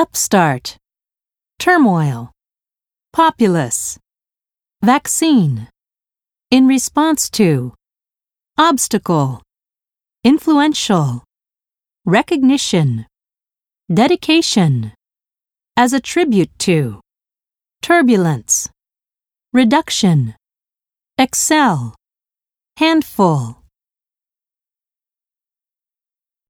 upstart, turmoil, populace, vaccine, in response to, obstacle, influential, recognition, dedication, as a tribute to, turbulence, reduction, excel, handful.